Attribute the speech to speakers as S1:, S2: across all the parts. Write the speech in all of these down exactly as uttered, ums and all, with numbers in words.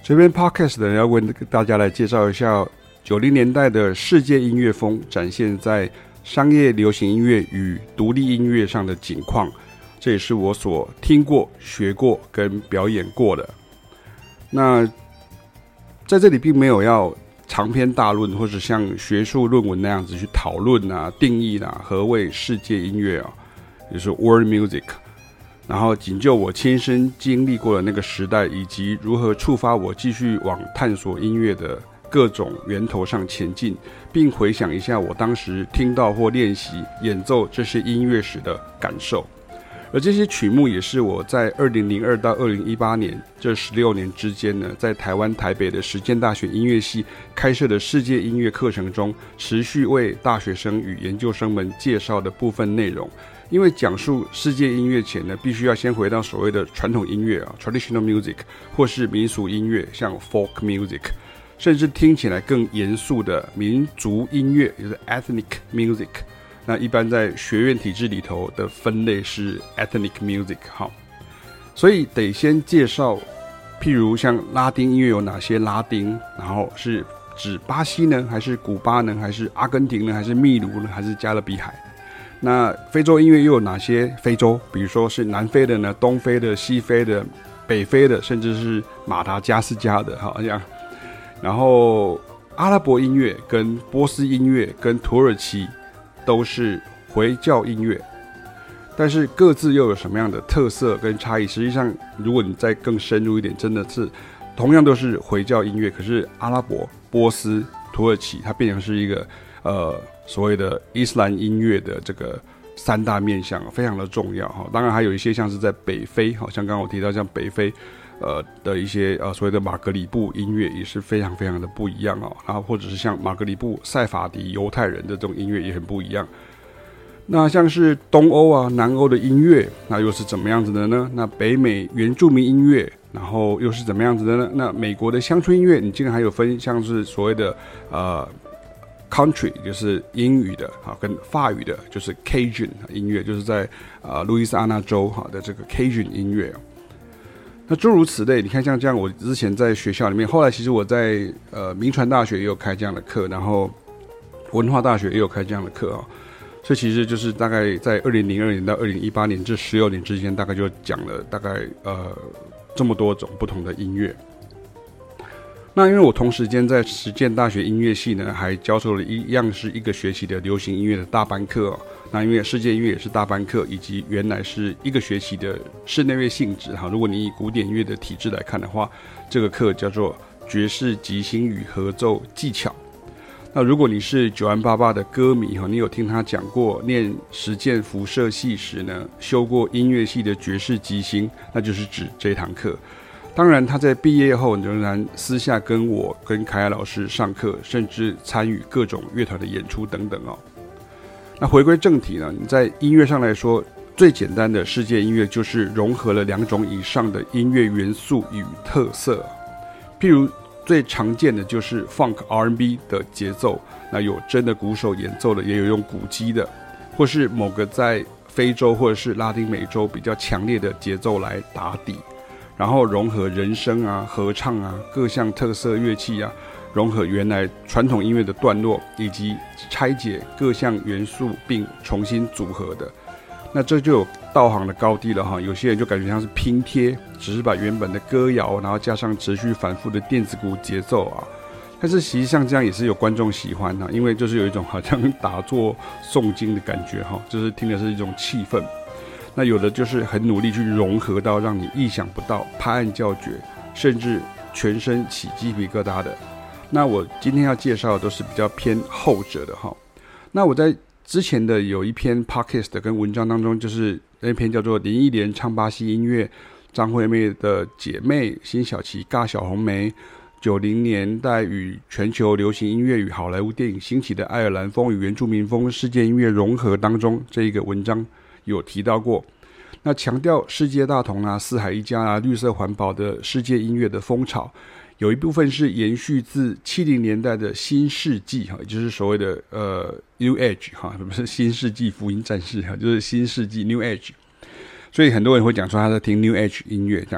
S1: 這邊 Podcast 的人要為大家來介紹一下九零年代的世界音樂風展現在商業流行音樂與獨立音樂上的景況，這也是我所聽過、學過跟表演過的。那在這裡並沒有要長篇大論，或者像學術論文那樣子去討論啊、定義啊何謂世界音樂啊，也就是 World Music。然後僅就我親身經歷過的那個時代，以及如何觸發我繼續往探索音樂的各種源頭上前進，並回想一下我當時聽到或練習演奏這些音樂時的感受。而這些曲目也是我在二零零二到二零一八年這十六年之間呢，在台灣台北的實踐大學音樂系開設的世界音樂課程中，持續為大學生與研究生們介紹的部分內容。因為講述世界音樂前呢，必須要先回到所謂的傳統音樂啊 （traditional music） 或是民俗音樂，像 folk music， 甚至聽起來更嚴肅的民族音樂，也就是 ethnic music。那一般在學院體制裡頭的分類是 ethnic music。好，所以得先介紹，譬如像拉丁音樂有哪些拉丁，然後是指巴西呢，還是古巴呢，還是阿根廷呢，還是秘魯呢，還是加勒比海？那非洲音樂又有哪些非洲？比如說是南非的呢，東非的、西非的、北非的，甚至是馬達加斯加的，好這樣。然後阿拉伯音樂跟波斯音樂跟土耳其都是回教音樂，但是各自又有什麼樣的特色跟差異？實際上，如果你再更深入一點，真的是同樣都是回教音樂，可是阿拉伯、波斯、土耳其，它變成是一個呃。所謂的伊斯蘭音樂的這個三大面向非常的重要哈，當然還有一些像是在北非，好像剛剛我提到像北非呃的一些呃所謂的馬格里布音樂也是非常非常的不一樣哦，然後或者是像馬格里布塞法迪猶太人的這種音樂也很不一樣。那像是東歐啊、南歐的音樂，那又是怎麼樣子的呢？那北美原住民音樂，然後又是怎麼樣子的呢？那美國的鄉村音樂，你竟然還有分像是所謂的呃。Country 就是英語的，好，跟法語的就是 Cajun 音樂，就是在啊路易斯安那州哈的這個 Cajun 音樂。那諸如此類，你看像這樣，我之前在學校裡面，後來其實我在呃銘傳大學也有開這樣的課，然後文化大學也有開這樣的課啊。所以其實就是大概在二零零二年到二零一八年這十六年之間，大概就講了大概呃這麼多種不同的音樂。那因為我同時間在實踐大學音樂系呢，還教授了一樣是一個學期的流行音樂的大班課哦。那因為世界音樂也是大班課，以及原來是一個學期的室內樂性質哈。如果你以古典音樂的體制來看的話，這個課叫做爵士即興與合奏技巧。那如果你是九安爸爸的歌迷哈，你有聽他講過念實踐輻射系時呢，修過音樂系的爵士即興，那就是指這一堂課。當然，他在畢業後仍然私下跟我、跟凱亞老師上課，甚至參與各種樂團的演出等等哦。那回歸正題呢，你在音樂上來說，最簡單的世界音樂就是融合了兩種以上的音樂元素與特色。譬如最常見的就是 Funk R and B 的節奏，那有真的鼓手演奏的，也有用鼓機的，或是某個在非洲或者是拉丁美洲比較強烈的節奏來打底。然後融合人聲啊、合唱啊、各項特色樂器啊，融合原來傳統音樂的段落，以及拆解各項元素並重新組合的，那這就有道行的高低了哈。有些人就感覺像是拼貼，只是把原本的歌謠，然後加上持續反覆的電子鼓節奏啊。但是實際上這樣也是有觀眾喜歡哈，因為就是有一種好像打坐誦經的感覺哈，就是聽的是一種氣氛。那有的就是很努力去融合到讓你意想不到、拍案叫絕，甚至全身起雞皮疙瘩的。那我今天要介紹的都是比較偏後者的哈。那我在之前的有一篇 podcast 跟文章當中，就是那篇叫做林憶蓮唱巴西音樂，張惠妹的姐妹辛曉琪尬小紅莓，九零年代與全球流行音樂與好萊塢電影興起的愛爾蘭風與原住民風世界音樂融合當中，這一個文章有提到過，那強調世界大同啊、四海一家啊、綠色環保的世界音樂的風潮，有一部分是延續自七零年代的新世紀哈，也就是所謂的呃 New Age 哈，不是新世紀福音戰士哈，就是新世紀 New Age， 所以很多人會講說他在聽 New Age 音樂這樣哈。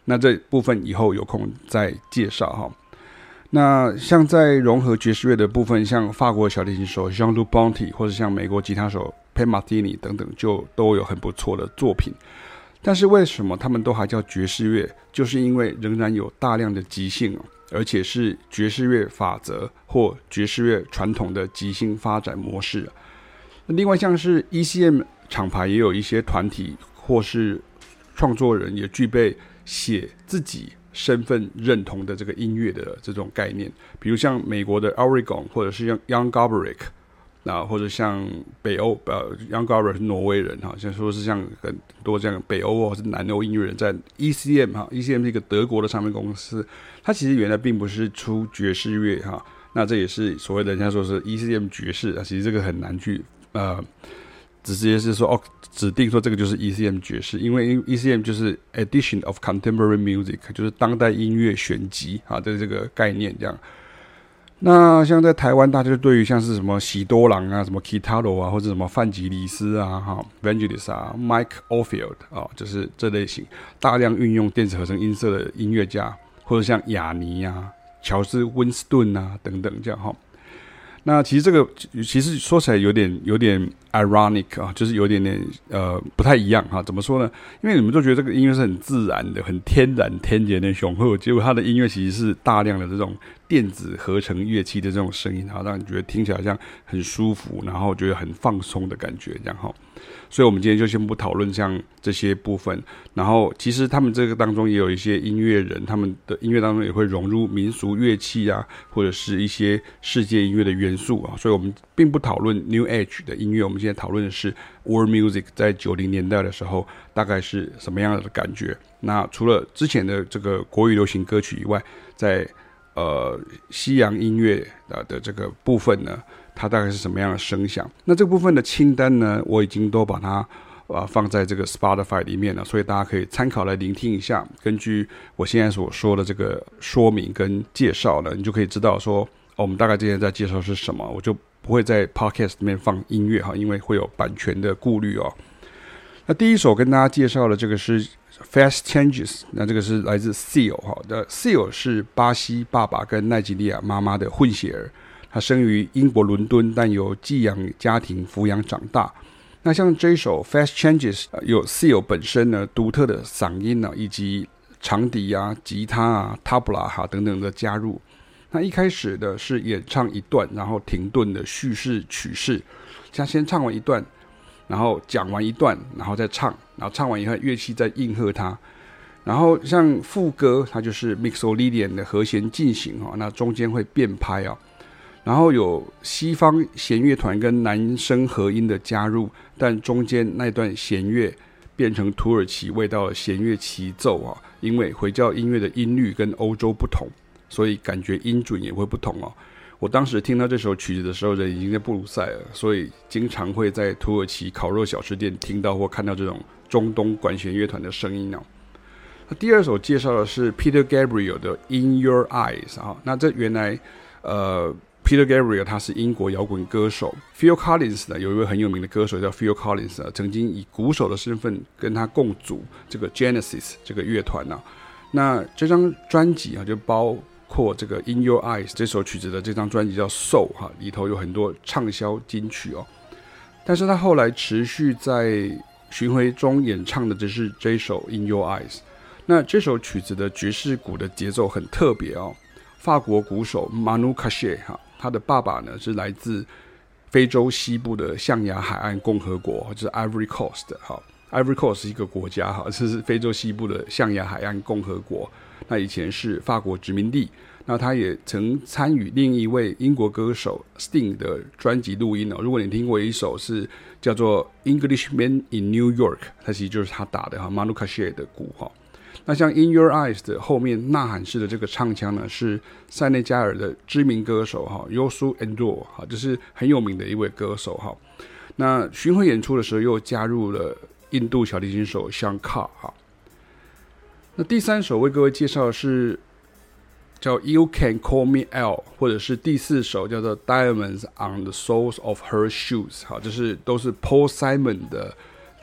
S1: 那這部分以後有空再介紹哈。那像在融合爵士樂的部分，像法國小提琴手 Jean-Luc Ponty 或者像美國吉他手 Pat Metheny 等等，就都有很不錯的作品。但是為什麼他們都還叫爵士樂？就是因為仍然有大量的即興，而且是爵士樂法則或爵士樂傳統的即興發展模式。另外像是 E C M 廠牌也有一些團體或是創作人也具備寫自己身份認同的這個音樂的這種概念，比如像美國的 Oregon 或者是像 Jan Garbarek， 那或者像北歐呃 Jan Garbarek 是挪威人哈，像說是像很多這樣北歐或是南歐音樂人在 E C M 哈 ，E C M 是一個德國的唱片公司，它其實原來並不是出爵士樂哈，那這也是所謂的人家說是 E C M 爵士啊，其實這個很難去呃。直接是說哦，指定說這個就是 E C M 爵士，因為 E C M 就是 Edition of Contemporary Music， 就是當代音樂選集啊的這個概念這樣。那像在台灣，大家就對於像是什麼喜多郎啊、什麼 Kitaro 啊，或者什麼范吉里斯啊、哈 Vangelis 啊、Mike Oldfield 啊，就是這類型大量運用電子合成音色的音樂家，或者像亞尼啊、喬治溫斯頓啊等等這樣哈。那其實這個其實說起來有點有點 ironic 啊，就是有點點呃不太一樣哈。怎麼說呢？因為你們都覺得這個音樂是很自然的、很天然、天然的雄厚，結果它的音樂其實是大量的這種電子合成樂器的這種聲音，哈，讓你覺得聽起來像很舒服，然後覺得很放鬆的感覺，這樣哈。所以我們今天就先不討論像這些部分，然後其實他們這個當中也有一些音樂人，他們的音樂當中也會融入民俗樂器啊，或者是一些世界音樂的元素啊。所以我們並不討論 New Age 的音樂，我們現在討論的是 World Music 在九零年代的時候大概是什麼樣的感覺。那除了之前的這個國語流行歌曲以外，在呃西洋音樂的這個部分呢，它大概是什麼樣的聲響？那這部分的清單呢，我已經都把它呃放在這個 Spotify 裡面了，所以大家可以參考來聆聽一下。根據我現在所說的這個說明跟介紹呢，你就可以知道說，哦，我們大概今天在介紹是什麼。我就不會在 Podcast 裡面放音樂哈，因為會有版權的顧慮哦。那第一首跟大家介紹的這個是 Fast Changes， 那這個是來自 Seal 哈的 Seal 是巴西爸爸跟奈及利亞媽媽的混血兒。他生於英國倫敦，但由寄養家庭撫養長大。那像這一首 Fast Changes， 有 Seal 本身呢獨特的嗓音呢，以及長笛啊、吉他啊、tabla 哈等等的加入。那一開始的是演唱一段，然後停頓的敘事曲式，像先唱完一段，然後講完一段，然後再唱，然後唱完以後樂器再應和它。然後像副歌，它就是 Mixolydian 的和弦進行哈，那中間會變拍啊。然後有西方弦樂團跟男聲合音的加入，但中間那段弦樂變成土耳其味道的弦樂齊奏啊，因為回教音樂的音律跟歐洲不同，所以感覺音準也會不同哦。我當時聽到這首曲子的時候，人已經在布魯塞爾，所以經常會在土耳其烤肉小吃店聽到或看到這種中東管弦樂團的聲音哦。那第二首介紹的是 Peter Gabriel 的 In Your Eyes 啊，那這原來呃。Peter Gabriel 他是英國搖滾歌手 ，Phil Collins 呢有一位很有名的歌手叫 Phil Collins 呢，曾經以鼓手的身份跟他共組這個 Genesis 這個樂團呢。那這張專輯啊就包括這個 In Your Eyes 這首曲子的這張專輯叫 Soul 哈，裡頭有很多暢銷金曲哦。但是他後來持續在巡迴中演唱的只是這首 In Your Eyes。那這首曲子的爵士鼓的節奏很特別哦，法國鼓手 Manu Katché 哈。他的爸爸呢是來自非洲西部的象牙海岸共和國，就是 Ivory Coast 哈 ，Ivory Coast 是一個國家哈，這是非洲西部的象牙海岸共和國。那以前是法國殖民地。那他也曾參與另一位英國歌手 Sting 的專輯錄音哦。如果你聽過一首是叫做 Englishman in New York， 它其實就是他打的哈 ，Manu Katché 的鼓哈。那像 In Your Eyes 的後面吶喊式的這個唱腔呢，是塞內加爾的知名歌手哈 Youssou N'Dour 哈，就是很有名的一位歌手哈。那巡迴演出的時候又加入了印度小提琴手 Shankar 哈。那第三首為各位介紹的是叫 You Can Call Me Al， 或者是第四首叫做 Diamonds on the Soles of Her Shoes 哈，這是都是 Paul Simon 的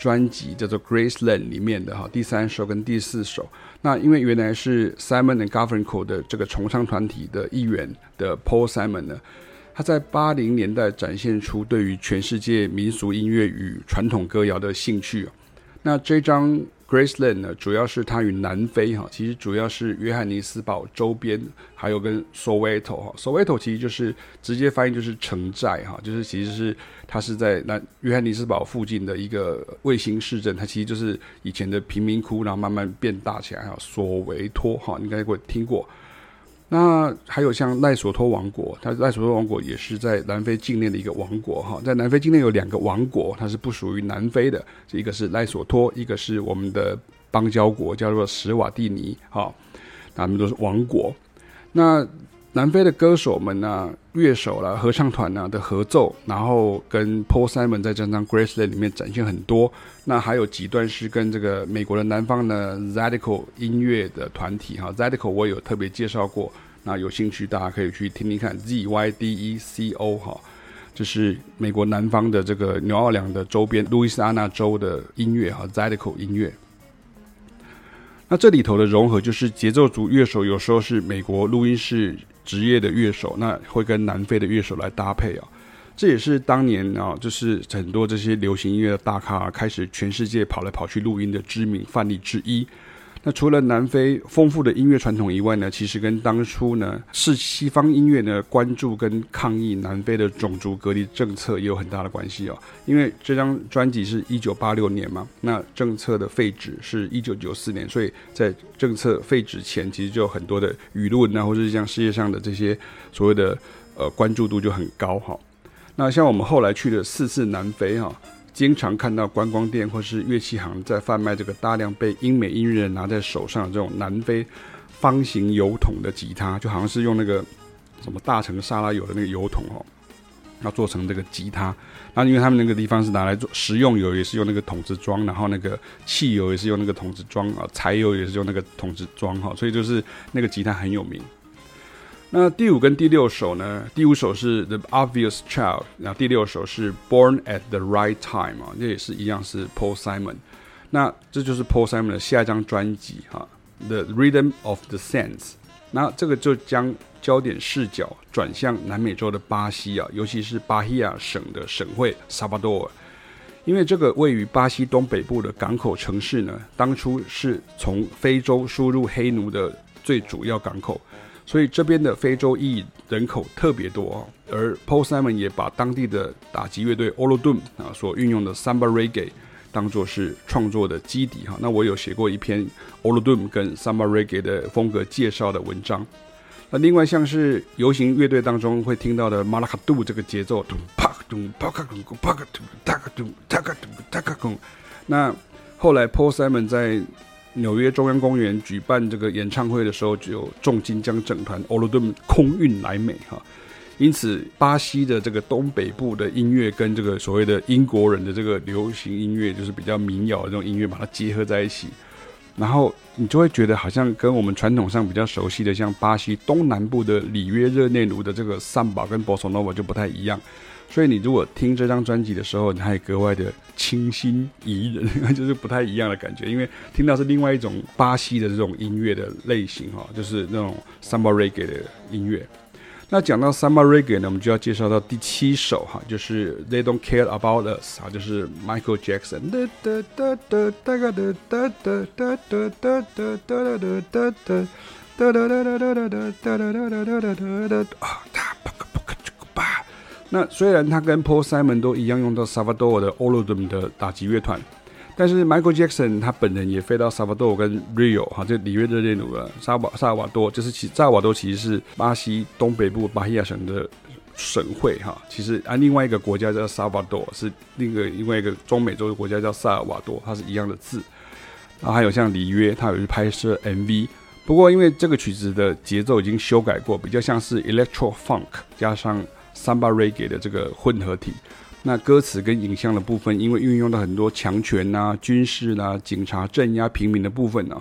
S1: 專輯叫做 Graceland 裡面的哈第三首跟第四首。那因為原來是 Simon and Garfunkel 的這個重唱團體的一員的 Paul Simon 呢，他在八零年代展現出對於全世界民俗音樂與傳統歌謠的興趣。那這張 Graceland 呢，主要是它與南非哈，其實主要是約翰尼斯堡周邊，還有跟 Soweto 哈 ，Soweto 其實就是直接翻譯就是城寨哈，就是其實是它是在南約翰尼斯堡附近的一個衛星市鎮，它其實就是以前的貧民窟，然後慢慢變大起來哈。索維托哈，你應該會聽過。那還有像賴索托王國，它賴索托王國也是在南非境內的一個王國哈，在南非境內有兩個王國，它是不屬於南非的，一個是賴索托，一個是我們的邦交國叫做史瓦蒂尼哈，他們都是王國。那南非的歌手們呢、啊、樂手啦、合唱團啊的合奏，然後跟 Paul Simon 在這張 Graceland 裡面展現很多。那還有幾段是跟這個美國的南方的 Zydeco 音樂的團體哈 ，Zydeco 我也有特別介紹過，那有興趣大家可以去聽聽看 Z Y D E C O 哈，就是美國南方的這個紐奧良的周邊路易斯安那州的音樂哈 ，Zydeco 音樂。那這裡頭的融合就是節奏組樂手有時候是美國錄音室職業的樂手，那會跟南非的樂手來搭配啊。這也是當年啊，就是很多這些流行音樂的大咖、啊、開始全世界跑來跑去錄音的知名範例之一。那除了南非豐富的音樂傳統以外呢，其實跟當初呢是西方音樂呢關注跟抗議南非的種族隔離政策也有很大的關係哦。因為這張專輯是一九八六年嘛，那政策的廢止是一九九四年，所以在政策廢止前，其實就有很多的輿論啊，或者是像世界上的這些所謂的呃關注度就很高哈。那像我們後來去了四次南非哈。經常看到觀光店或是樂器行在販賣這個大量被英美音樂人拿在手上的這種南非方形油桶的吉他，就好像是用那個什麼大成沙拉油的那個油桶哦，要做成這個吉他。那因為他們那個地方是拿來做食用油，也是用那個桶子裝，然後那個汽油也是用那個桶子裝啊，柴油也是用那個桶子裝哈，所以就是那個吉他很有名。那第五跟第六首呢？第五首是 The Obvious Child， 然後第六首是 Born at the Right Time 啊，這也是一樣是 Paul Simon。那這就是 Paul Simon 的下一張專輯哈 ，The Rhythm of the Sands。那這個就將焦點視角轉向南美洲的巴西啊，尤其是巴希亞省的省會薩巴多爾，因為這個位於巴西東北部的港口城市呢，當初是從非洲輸入黑奴的最主要港口。所以這邊的非洲裔人口特別多、哦、而 Paul Simon 也把當地的打擊樂隊 Olodum 啊所運用的 Samba Reggae 當作是創作的基底哈。那我有寫過一篇 Olodum 跟 Samba Reggae 的風格介紹的文章。那另外像是遊行樂隊當中會聽到的馬拉卡杜這個節奏，那後來 Paul Simon 在紐約中央公園舉辦這個演唱會的時候，就重金將整團 Olodum 空運來美哈，因此巴西的這個東北部的音樂跟這個所謂的英國人的這個流行音樂，就是比較民謠的這種音樂，把它結合在一起，然後你就會覺得好像跟我們傳統上比較熟悉的，像巴西東南部的里約熱內盧的這個桑巴跟 Bossa Nova 就不太一樣。所以你如果聽這張專輯的時候，你還格外的清新宜人，就是不太一樣的感覺，因為聽到是另外一種巴西的這種音樂的類型哈，就是那種 Samba Reggae 的音樂。那講到 Samba Reggae 呢，我們就要介紹到第七首哈，就是 They Don't Care About Us 啊，就是 Michael Jackson。那雖然他跟 Paul Simon 都一樣用到薩瓦多爾的 Olodum 的打擊樂團，但是 Michael Jackson 他本人也飛到薩瓦多爾跟 Rio 哈，這里約熱內盧了，薩瓦薩爾瓦多，就是其薩爾瓦多其實是巴西東北部巴希亞省的省會哈。其實啊，另外一個國家叫薩瓦多，是另一個另外一個中美洲的國家叫薩爾瓦多，它是一樣的字。然後還有像里約，他有去拍攝 M V， 不過因為這個曲子的節奏已經修改過，比較像是 Electro Funk 加上Samba Reggae 的這個混合體，那歌詞跟影像的部分，因為運用到很多強權啊、軍事啦、啊、警察鎮壓平民的部分呢、啊，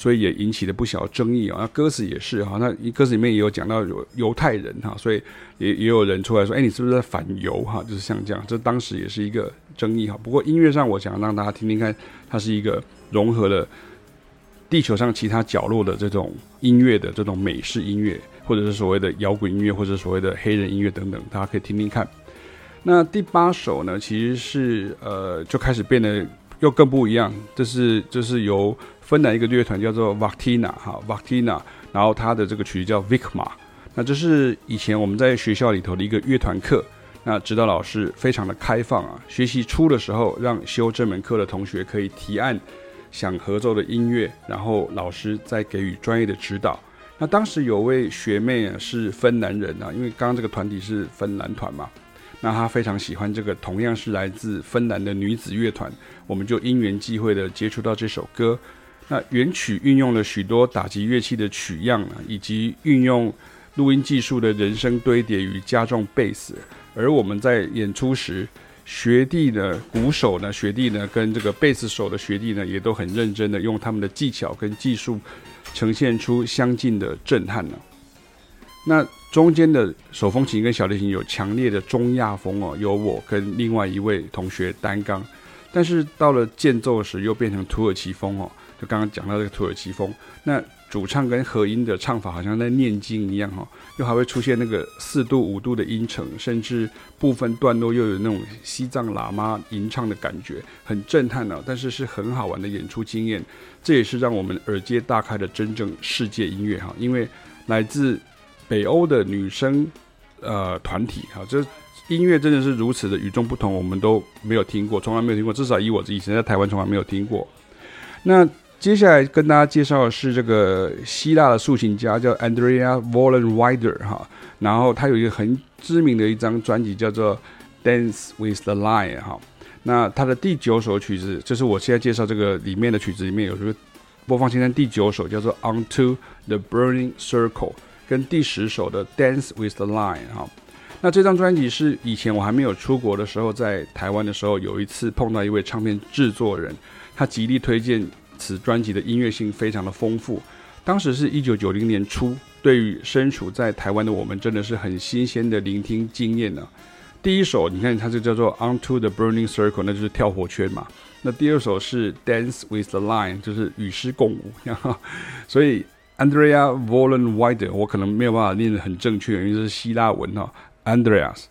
S1: 所以也引起了不小的爭議啊。那歌詞也是哈，那歌詞裡面也有講到有猶太人哈，所以也也有人出來說，哎、欸，你是不是在反猶哈？就是像這樣，這當時也是一個爭議哈。不過音樂上，我想讓大家聽聽看，它是一個融合了地球上其他角落的這種音樂的這種美式音樂，或者是所謂的搖滾音樂，或者是所謂的黑人音樂等等，大家可以聽聽看。那第八首呢，其實是呃就開始變得又更不一樣，這是這是由芬蘭一個樂團叫做 Vaktina 哈 Vaktina， 然後他的這個曲子叫 Vikma。那這是以前我們在學校裡頭的一個樂團課，那指導老師非常的開放啊，學習初的時候讓修這門課的同學可以提案想合奏的音樂，然後老師再給予專業的指導。那當時有位學妹啊是芬蘭人啊，因為剛剛這個團體是芬蘭團嘛。那他非常喜歡這個同樣是來自芬蘭的女子樂團，我們就因緣際會的接觸到這首歌。那原曲運用了許多打擊樂器的取樣，以及運用錄音技術的人聲堆疊與加重貝斯。而我們在演出時，學弟呢，鼓手呢，學弟呢，跟這個貝斯手的學弟呢，也都很認真的用他們的技巧跟技術，呈現出相近的震撼呢。那中間的手風琴跟小提琴有強烈的中亞風哦，由我跟另外一位同學擔綱，但是到了間奏時又變成土耳其風哦，就剛剛講到這個土耳其風，那主唱跟和音的唱法好像在念經一樣哦，又還會出現那個四度五度的音程，甚至部分段落又有那種西藏喇嘛吟唱的感覺，很震撼哦，但是是很好玩的演出經驗，這也是讓我們耳界大開的真正世界音樂哈，因為來自北歐的女生呃團體哈，這音樂真的是如此的與眾不同，我們都沒有聽過，從來沒有聽過，至少以我以前在台灣從來沒有聽過。那接下來跟大家介紹的是這個希臘的豎琴家叫 Andrea Vollenweider 哈，然後他有一個很知名的一張專輯叫做 Dance with the Lion 哈，那他的第九首曲子就是我現在介紹這個裡面的曲子裡面有這個播放清單第九首叫做 Onto the Burning Circle。跟第十首的 Dance with the Lion 哈，那這張專輯是以前我還沒有出國的時候，在台灣的時候，有一次碰到一位唱片制作人，他極力推薦此專輯的音樂性非常的豐富。當時是一九九零年初，對於身處在台灣的我們，真的是很新鮮的聆聽經驗呢、啊。第一首你看它就叫做 Onto the Burning Circle， 那就是跳火圈嘛。那第二首是 Dance with the Lion， 就是與詩共舞。所以Andrea Vollenweider， 我可能沒有辦法念得很正確，因為這是希臘文哈。Andreas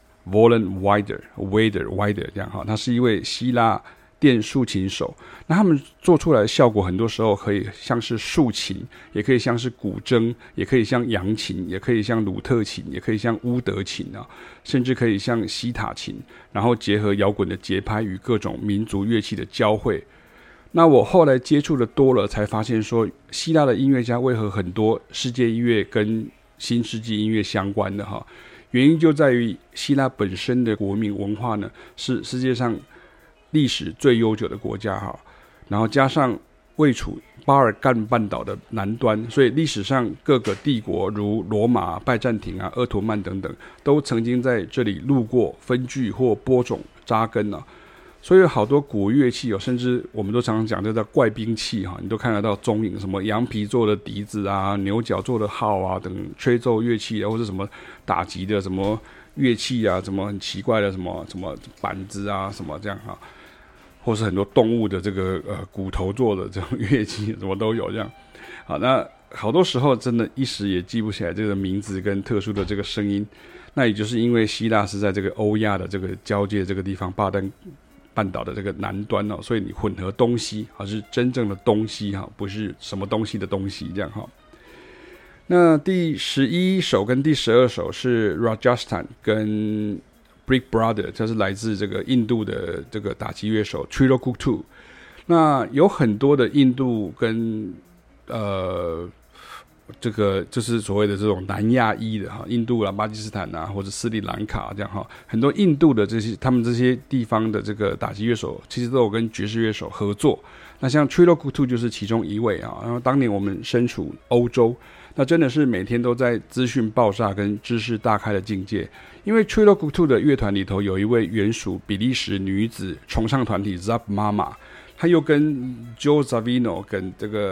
S1: Vollenweider，Weider，Weider 這樣哈，他是一位希臘電豎琴手。那他們做出來的效果，很多時候可以像是豎琴，也可以像是古箏，也可以像揚琴，也可以像魯特琴，也可以像烏德琴啊，甚至可以像西塔琴，然後結合搖滾的節拍與各種民族樂器的交匯。那我後來接觸的多了，才發現說，希臘的音樂家為何很多世界音樂跟新世紀音樂相關的哈？原因就在於希臘本身的國民文化呢，是世界上歷史最悠久的國家哈。然後加上位處巴爾幹半島的南端，所以歷史上各個帝國如羅馬、拜占庭啊、鄂圖曼等等，都曾經在這裡路過、分據或播種、扎根啊。所以有好多古樂器哦，甚至我們都常常講這叫怪兵器哈，你都看得到蹤影，什麼羊皮做的笛子啊、牛角做的號啊等吹奏樂器啊，或者什麼打擊的什麼樂器啊，什麼很奇怪的什麼什麼板子啊，什麼這樣哈，或是很多動物的這個呃骨頭做的這種樂器，什麼都有這樣。好，那好多時候真的一時也記不起來這個名字跟特殊的這個聲音，那也就是因為希臘是在這個歐亞的這個交界這個地方，巴丹半島的這個南端哦，所以你混合東西還是真正的東西哈，不是什麼東西的東西這樣哈。那第十一首跟第十二首是 Rajasthan 跟 Brick Brother， 這是來自這個印度的這個打擊樂手 Trilok Kuttu。那有很多的印度跟呃。這個就是所謂的這種南亞裔的哈，印度啦、巴基斯坦啊，或者斯里蘭卡這樣哈，很多印度的這些他們這些地方的這個打擊樂手，其實都有跟爵士樂手合作。那像 Trilok Kuttu 就是其中一位啊。然後當年我們身處歐洲，那真的是每天都在資訊爆炸跟知識大開的境界。因為 Trilok Kuttu 的樂團裡頭有一位原屬比利時女子重唱團體 Zap Mama， 她又跟 Joe Zawinul 跟這個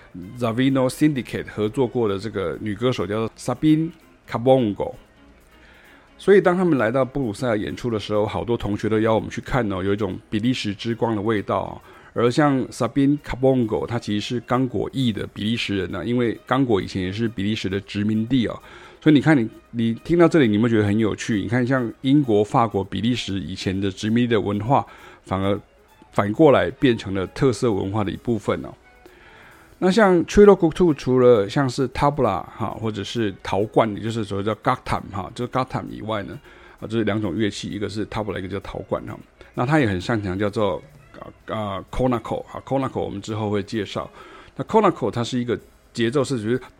S1: Zavino Syndicate 合作過的這個女歌手叫做 Sabine Kabongo。所以當他們來到布魯塞爾演出的時候，好多同學都邀我們去看哦，有一種比利時之光的味道哦。而像 Sabine Kabongo， 他其實是剛果裔的比利時人呢、啊，因為剛果以前也是比利時的殖民地哦。所以你看你，你你聽到這裡，你有沒有覺得很有趣？你看，像英國、法國、比利時以前的殖民地的文化，反而反過來變成了特色文化的一部分哦。那像 Trillo Guktu 除了像是 Tabla 哈，或者是陶罐，也就是所謂叫 Gaktam 哈，就是 Gaktam 以外呢，啊，這是兩種樂器，一個是 Tabla， 一個叫陶罐哈。那他也很擅長叫做啊 Konako 哈 Konako 我們之後會介紹。那 Konako 它是一個節奏是就是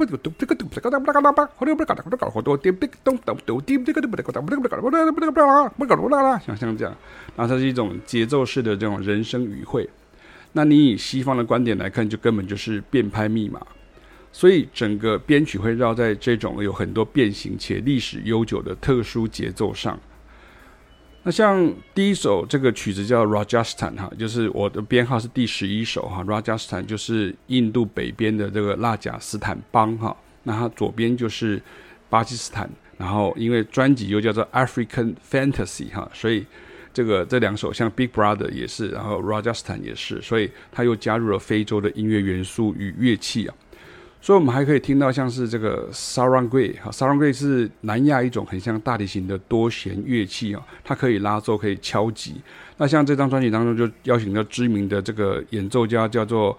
S1: 像像這樣，然後它是一種節奏式的這種人聲語彙。那你以西方的觀點來看，就根本就是變拍密碼，所以整個編曲會繞在這種有很多變形且歷史悠久的特殊節奏上。那像第一首這個曲子叫 Rajasthan 哈，就是我的編號是第十一首哈 ，Rajasthan 就是印度北邊的這個拉賈斯坦邦哈，那它左邊就是巴基斯坦，然後因為專輯又叫做 African Fantasy 哈，所以這個這兩首像 Big Brother 也是，然後 Rajasthan 也是，所以它又加入了非洲的音樂元素與樂器啊。所以我們還可以聽到像是這個 Sarangi 哈 ，Sarangi 是南亞一種很像大提琴的多弦樂器啊，它可以拉奏，可以敲擊。那像這張專輯當中就邀請到知名的這個演奏家叫做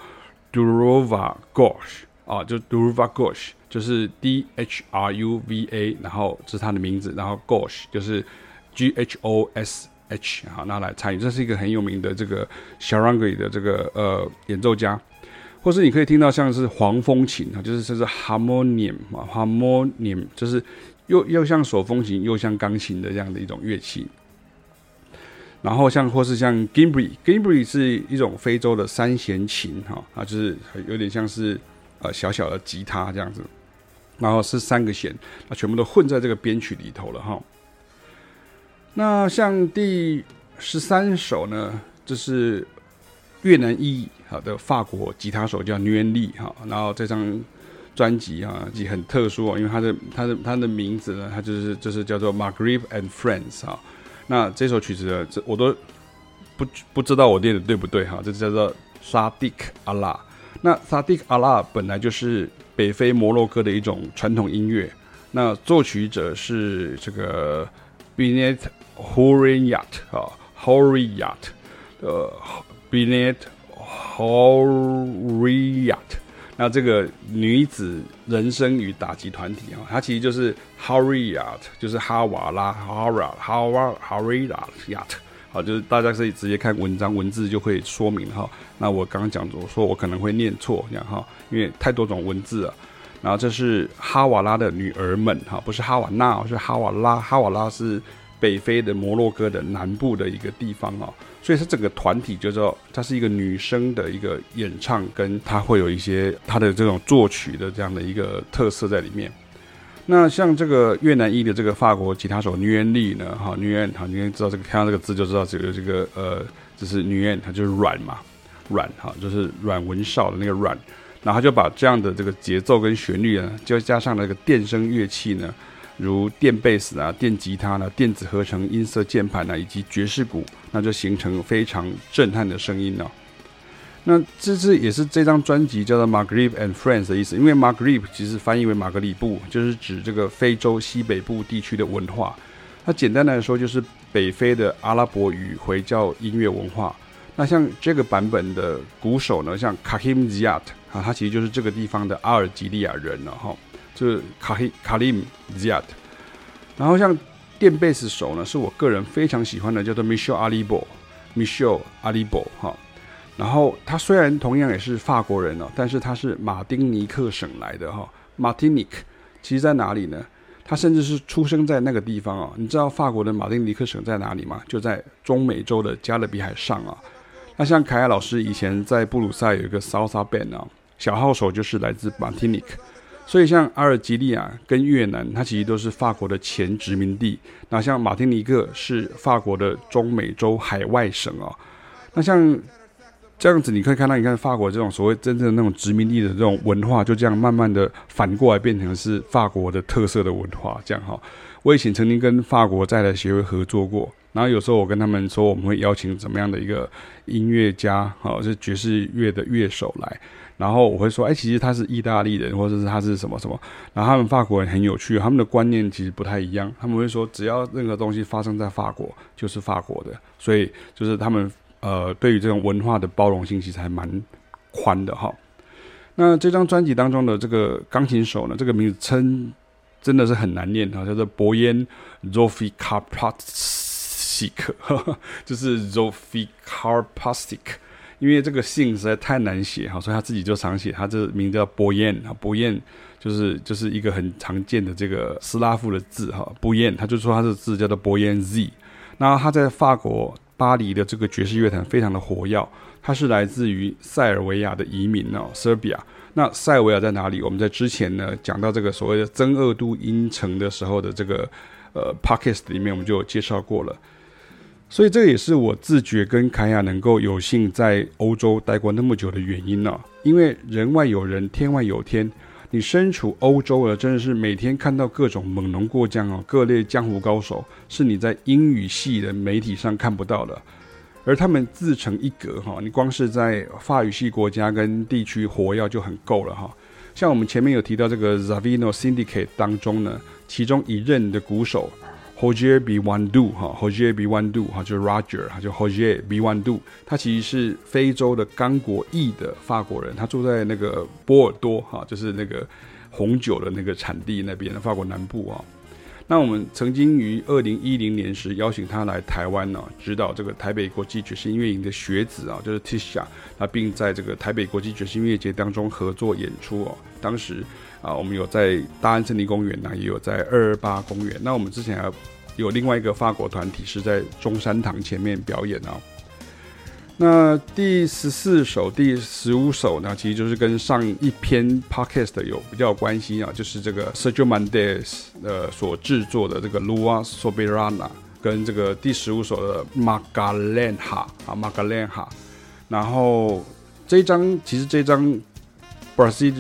S1: Dhruva Ghosh 啊，就 Dhruva Ghosh 就是 D H R U V A， 然後這是他的名字，然後 Ghosh 就是 G H O S H 啊，那來參與，這是一個很有名的這個 Sarangi 的這個呃演奏家。或是你可以聽到像是黃風琴啊，就是這是 harmonium 啊 ，harmonium 就是又又像手風琴又像鋼琴的這樣的一種樂器。然後像或是像 Gimbri，Gimbri 是一種非洲的三弦琴哈啊，就是有點像是呃小小的吉他這樣子，然後是三個弦，那全部都混在這個編曲裡頭了哈。那像第十三首呢，就是越南裔好的法國吉他手叫 Nguyen Ly 哈，然後這張專輯啊也很特殊哦，因為他的他的他的名字呢，他就是就是叫做 Maghreb and Friends 哈。那這首曲子呢，這我都不不知道我念的對不對哈，這叫做 Sadik Allah。那 Sadik Allah 本來就是北非摩洛哥的一種傳統音樂，那作曲者是這個 Binet Houriyat 啊 Houriyat 呃 Binet Houriyat， 那這個女子人聲與打擊團體啊，它其實就是 Houriyat， 就是哈瓦拉 Hara Hara Houriyat， 好，就是大家可以直接看文章文字就會說明哈。那我剛剛講我說我可能會念錯這樣哈，因為太多種文字了。然後這是哈瓦拉的女兒們哈，不是哈瓦那，是哈瓦拉。哈瓦拉是北非的摩洛哥的南部的一個地方啊，所以它整個團體就叫它是一個女生的一個演唱，跟它會有一些它的這種作曲的這樣的一個特色在裡面。那像這個越南裔的這個法國吉他手 Nguyen Ly 呢，哈 Nguyen 哈，你知道這個看到這個字就知道這個這個呃，這是 Nguyen，它就是軟嘛，軟哈，就是阮文紹的那個軟，然後他就把這樣的這個節奏跟旋律呢，就加上那個電聲樂器呢，如電貝斯啊、電吉他呢、電子合成音色鍵盤啊，以及爵士鼓，那就形成非常震撼的聲音哦。那這次也是這張專輯叫做 Maghreb and Friends 的意思，因為 Maghreb 其實翻譯為馬格里布，就是指這個非洲西北部地區的文化。它簡單來說就是北非的阿拉伯語回教音樂文化。那像這個版本的鼓手呢，像 Kahim Ziad 啊，他其實就是這個地方的阿爾及利亞人了哈。就是 Kahim Ziad， 然後像電貝斯手呢，是我個人非常喜歡的，叫做 Michel Alibo，Michel Alibo 哈。然後他雖然同樣也是法國人哦，但是他是馬丁尼克省來的哈。Martinique 其實在哪裡呢？他甚至是出生在那個地方哦。你知道法國的馬丁尼克省在哪裡嗎？就在中美洲的加勒比海上啊。那像凱亞老師以前在布魯塞有一個 Salsa Band 啊，小號手就是來自 Martinique。所以像阿爾及利亞跟越南，它其實都是法國的前殖民地。那像馬丁尼克是法國的中美洲海外省哦。那像這樣子你可以看到，你看法國這種所謂真正的那種殖民地的這種文化，就這樣慢慢的反過來變成是法國的特色的文化，這樣哈。我以前曾經跟法國在台協會合作過，然後有時候我跟他們說我們會邀請怎麼樣的一個音樂家，哈，是爵士樂的樂手來，然後我會說，哎，其實他是意大利人，或者是他是什麼什麼，然後他們法國人很有趣，他們的觀念其實不太一樣，他們會說只要任何東西發生在法國就是法國的，所以就是他們。呃，對於這種文化的包容性，其實還蠻寬的哈。那這張專輯當中的這個鋼琴手呢，這個名字稱真的是很難念哈，叫做博嫣 Zsofie Karpatsyk， 就是 Zsofie Karpatsyk， 因為這個姓實在太難寫哈，所以他自己就常寫，他這個名字叫博嫣啊，博嫣就是就是一個很常見的這個斯拉夫的字哈，博嫣，他就說他這個字叫做博嫣 Z， 那他在法國巴黎的這個爵士樂壇非常的活躍，他是來自於塞爾維亞的移民哦 ，Serbia。那塞爾維亞在哪裡？我們在之前呢講到這個所謂的增二度音程的時候的這個呃 podcast 裡面，我們就有介紹過了。所以這也是我自覺跟凱雅能夠有幸在歐洲待過那麼久的原因哦，因為人外有人，天外有天。你身處歐洲了，真的是每天看到各種猛龍過江哦，各類江湖高手，是你在英語系的媒體上看不到的。而他們自成一格哈，你光是在法語系國家跟地區活躍就很夠了哈。像我們前面有提到這個 Zavino Syndicate 當中呢，其中一任的鼓手 Roger Biwandou 哈 ，Roger Biwandou 哈，就是 Roger 哈，就 Roger Biwandou， 他其實是非洲的剛果裔的法國人，他住在那個波爾多哈，就是那個紅酒的那個產地那邊的法國南部啊。那我們曾經於二零一零年時邀請他來台灣呢、啊，指導這個台北國際爵士音樂營的學子啊，就是 Tisha， 那並在這個台北國際爵士音樂節當中合作演出哦。當時啊，我們有在大安森林公園呢、啊，也有在二二八公園。那我們之前還有另外一個法國團體是在中山堂前面表演啊。那第十四首、第十五首呢，其實就是跟上一篇 podcast 有比較有關係啊，就是這個 Sergio Mendes 呃所制作的這個 Lua Soberana， 跟這個第十五首的 Magalenha 啊 Magalenha， 然後這一張其實這一張 Brazil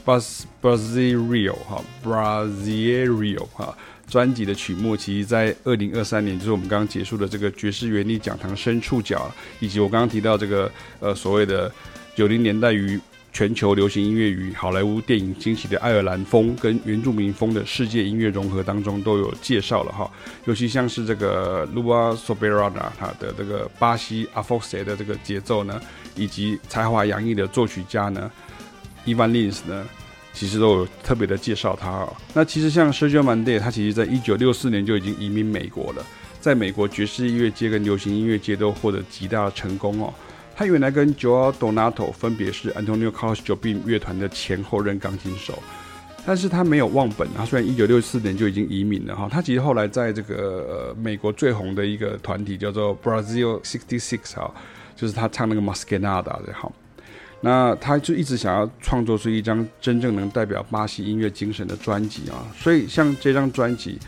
S1: Brasileiro 哈 Brasileiro 哈。專輯的曲目，其實在二零二三年，就是我們剛剛結束的這個爵士樂歷講堂深觸角，以及我剛剛提到這個呃所謂的九零年代於全球流行音樂與好萊塢電影興起的愛爾蘭風跟原住民風的世界音樂融合當中都有介紹了哈。尤其像是這個 Lua Soberana 它的這個巴西阿福塞的這個節奏呢，以及才華洋溢的作曲家呢 Ivan Lins 呢，其實都有特別的介紹他哦。那其實像 Sergio Mendes， 他其實在一九六四年就已經移民美國了，在美國爵士音樂界跟流行音樂界都獲得極大的成功哦。他原來跟 Joao Donato 分別是 Antonio Carlos Jobim 樂團的前後任鋼琴手，但是他沒有忘本。他雖然一九六四年就已經移民了哈，他其實後來在這個、呃、美國最紅的一個團體叫做 Brazil 六十六哈，就是他唱那個 Masquerada 的哈。那他就一直想要創作出一張真正能代表巴西音樂精神的專輯啊，所以像這張專輯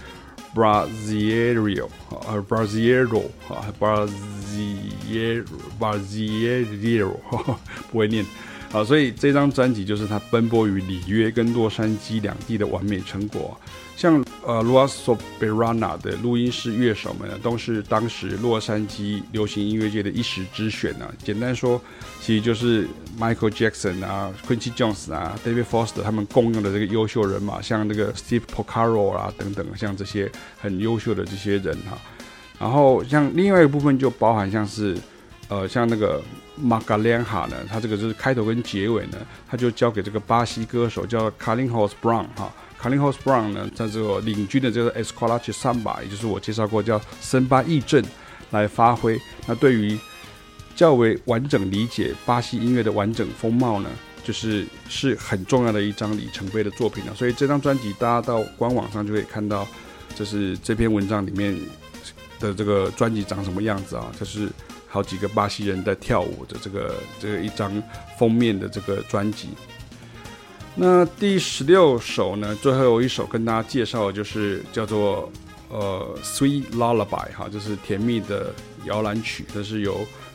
S1: Brasileiro 呃 Brasileiro 啊 Brasileiro Brasileiro 不會念啊，所以這張專輯就是他奔波於里約跟洛杉磯兩地的完美成果。像呃 Lua Soberana 的錄音室樂手們呢，都是當時洛杉磯流行音樂界的一時之選啊。簡單說，其實就是 Michael Jackson 啊、Quincy Jones 啊、David Foster 他們共用的這個優秀人馬，像那個 Steve Porcaro 啊等等，像這些很優秀的這些人哈、啊。然後像另外一個部分就包含像是呃像那個 Magalenha 呢，他這個就是開頭跟結尾呢，他就交給這個巴西歌手叫 Carlinhos Brown 哈。Carlinhos Brown 呢，在這個領軍的這個 Escola de Samba， 也就是我介紹過叫森巴藝陣來發揮。那對於較為完整理解巴西音樂的完整風貌呢，就是是很重要的一張里程碑的作品了。所以這張專輯，大家到官網上就可以看到，就是這篇文章裡面的這個專輯長什麼樣子啊？就是好幾個巴西人在跳舞的這個這個一張封面的這個專輯。那第十六首呢，最後一首跟大家介紹的就是叫做呃 Sweet Lullaby 哈，就是甜蜜的搖籃曲，這是由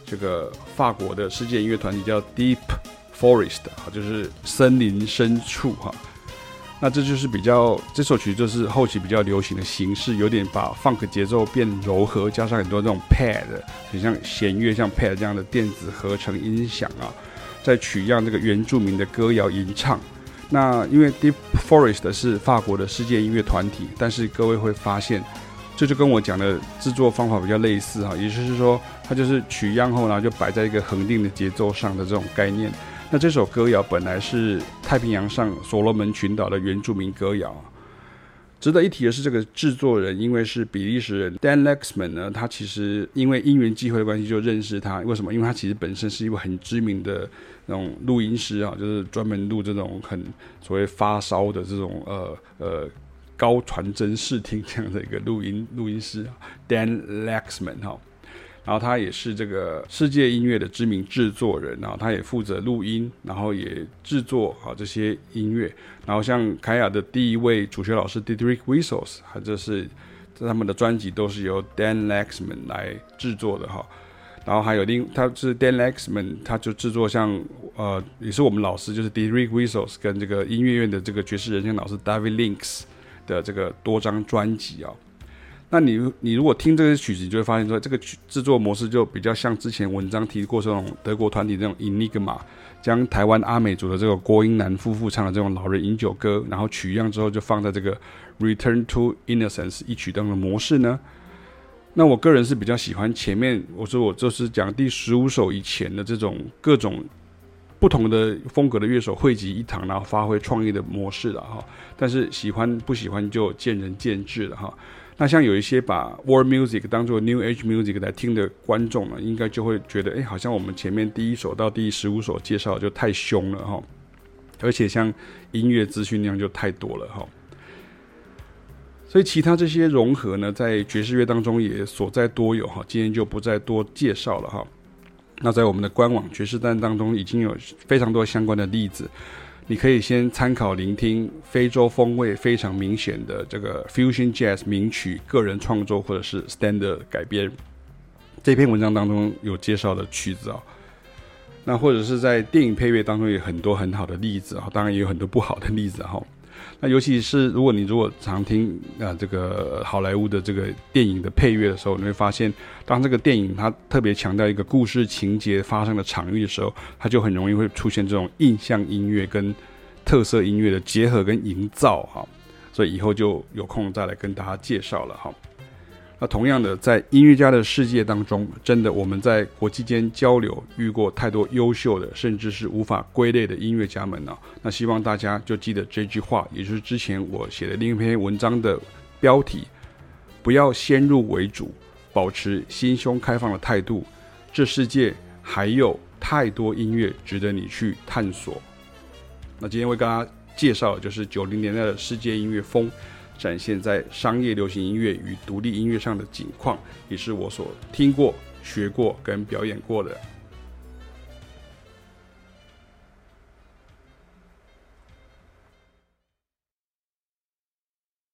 S1: 這個法國的世界音樂團體叫 Deep Forest 啊，就是森林深處哈。那這就是比較這首曲就是後期比較流行的形式，有點把 funk 節奏變柔和，加上很多這種 pad， 很像弦樂像 pad 這樣的電子合成音響啊，再取樣這個原住民的歌謠吟唱。那因為 Deep Forest 是法國的世界音樂團體，但是各位會發現，這就跟我講的製作方法比較類似哈，也就是說，它就是取樣後，然後就擺在一個恆定的節奏上的這種概念。那這首歌謠本來是太平洋上所羅門群島的原住民歌謠。值得一提的是，這個製作人因為是比利時人 Dan Lexman 呢，他其實因為因緣際會的關係就認識他。為什麼？因為他其實本身是一位很知名的那種錄音師啊，就是專門錄這種很所謂發燒的這種呃呃高傳真視聽這樣的一個錄音錄音師 Dan Lexman 哈。然後他也是這個世界音樂的知名製作人，然後他也負責錄音，然後也製作啊這些音樂。然後像凱雅的第一位主學老師 Didrik Wissos， 他這是他們的專輯都是由 Dan Lexman 來製作的哈。然後還有另他是 Dan Lexman， 他就製作像呃也是我們老師就是 Didrik Wissos 跟這個音樂院的這個爵士人聲老師 David Links 的這個多張專輯啊。那你你如果聽這個曲子，你就會發現說，這個製作模式就比較像之前文章提過這種德國團體這種 Enigma， 將台灣阿美族的這個郭英男夫婦唱的這種老人飲酒歌，然後取樣之後就放在這個 Return to Innocence 一曲當的模式呢。那我個人是比較喜歡前面我說我就是講第十五首以前的這種各種不同的風格的樂手匯集一堂，然後發揮創意的模式了哈。但是喜歡不喜歡就見仁見智了哈。那像有一些把 World Music 當作 New Age Music 來聽的觀眾呢，應該就會覺得，哎，好像我們前面第一首到第十五首介紹就太兇了哈，而且像音樂資訊量就太多了哈。所以其他這些融合呢，在爵士樂當中也所在多有哈，今天就不再多介紹了哈。那在我們的官網爵士單當中已經有非常多相關的例子。你可以先參考聆聽非洲風味非常明顯的這個 Fusion Jazz 名曲個人創作或者是 Standard 改編，這篇文章當中有介紹的曲子啊。那或者是在電影配樂當中有很多很好的例子啊，當然也有很多不好的例子哈。那尤其是如果你如果常聽啊這個好萊塢的這個電影的配樂的時候，你會發現，當這個電影它特別強調一個故事情節發生的場域的時候，它就很容易會出現這種印象音樂跟特色音樂的結合跟營造哈。所以以後就有空再來跟大家介紹了哈。那同樣的，在音樂家的世界當中，真的我們在國際間交流遇過太多優秀的，甚至是無法歸類的音樂家們呢、啊。那希望大家就記得這句話，也就是之前我寫的另一篇文章的標題：不要先入為主，保持心胸開放的態度。這世界還有太多音樂值得你去探索。那今天為大家介紹的就是九零年代的世界音樂風展現在商業流行音樂與獨立音樂上的景況，也是我所聽過、學過跟表演過的。